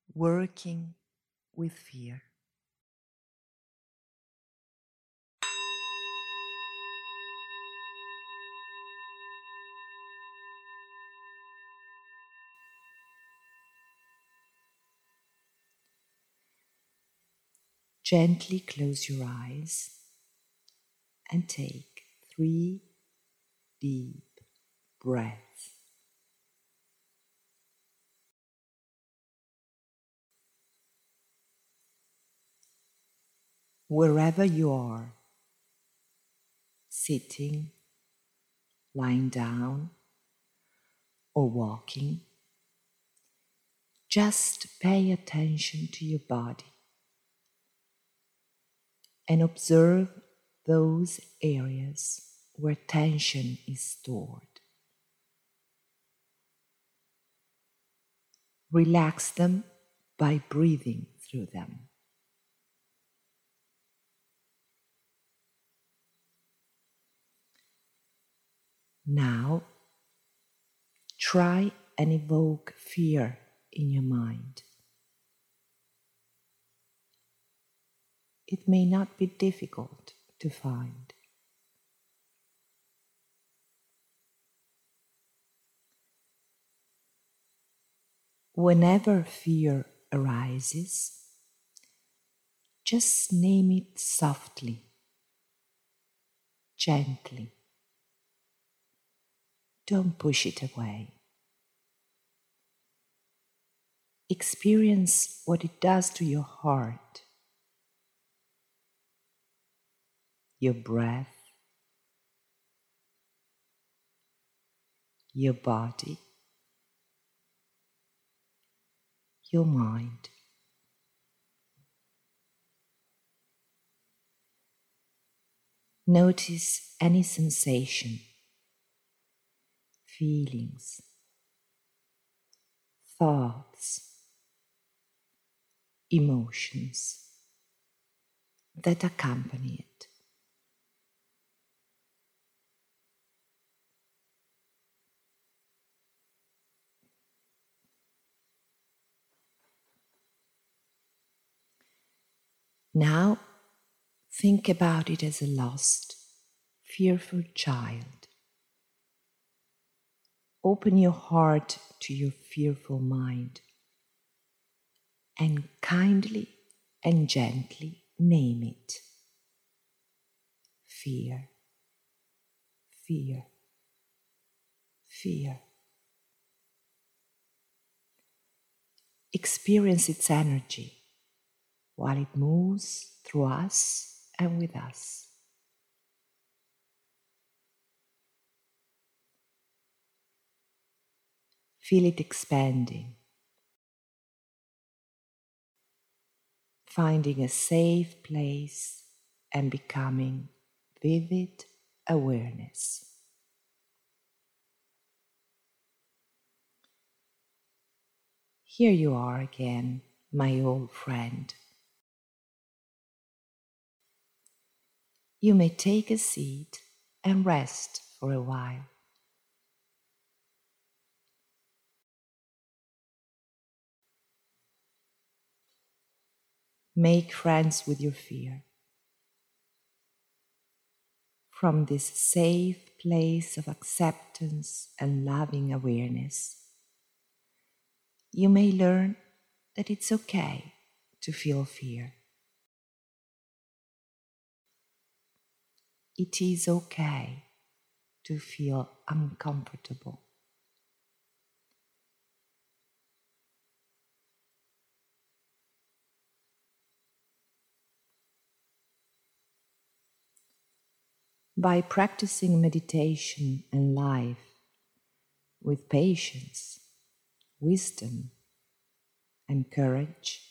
working with fear. Gently close your eyes and take 3 deep breaths. Wherever you are, sitting, lying down, or walking, just pay attention to your body and observe those areas where tension is stored. Relax them by breathing through them. Now, try and evoke fear in your mind. It may not be difficult to find. Whenever fear arises, just name it softly, gently. Don't push it away. Experience what it does to your heart, your breath, your body, your mind. Notice any sensation, feelings, thoughts, emotions that accompany it. Now, think about it as a lost, fearful child. Open your heart to your fearful mind and kindly and gently name it. Fear, fear, fear. Experience its energy while it moves through us and with us. Feel it expanding, finding a safe place and becoming vivid awareness. Here you are again, my old friend. You may take a seat and rest for a while. Make friends with your fear. From this safe place of acceptance and loving awareness, you may learn that it's okay to feel fear. It is okay to feel uncomfortable. By practicing meditation and life with patience, wisdom, and courage,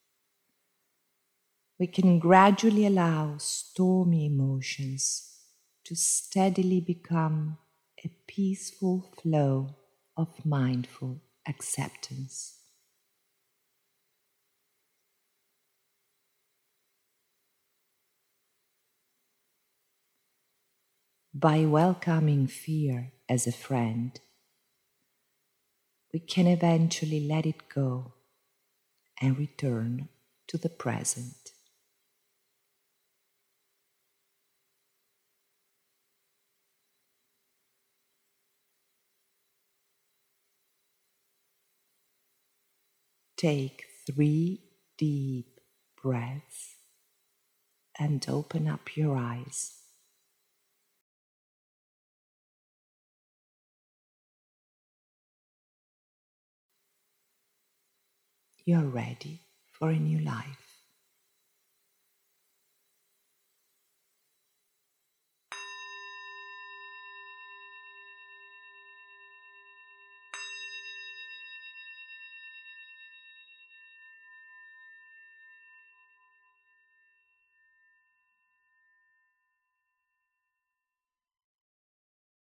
we can gradually allow stormy emotions to steadily become a peaceful flow of mindful acceptance. By welcoming fear as a friend, we can eventually let it go and return to the present. Take 3 deep breaths and open up your eyes. You're ready for a new life.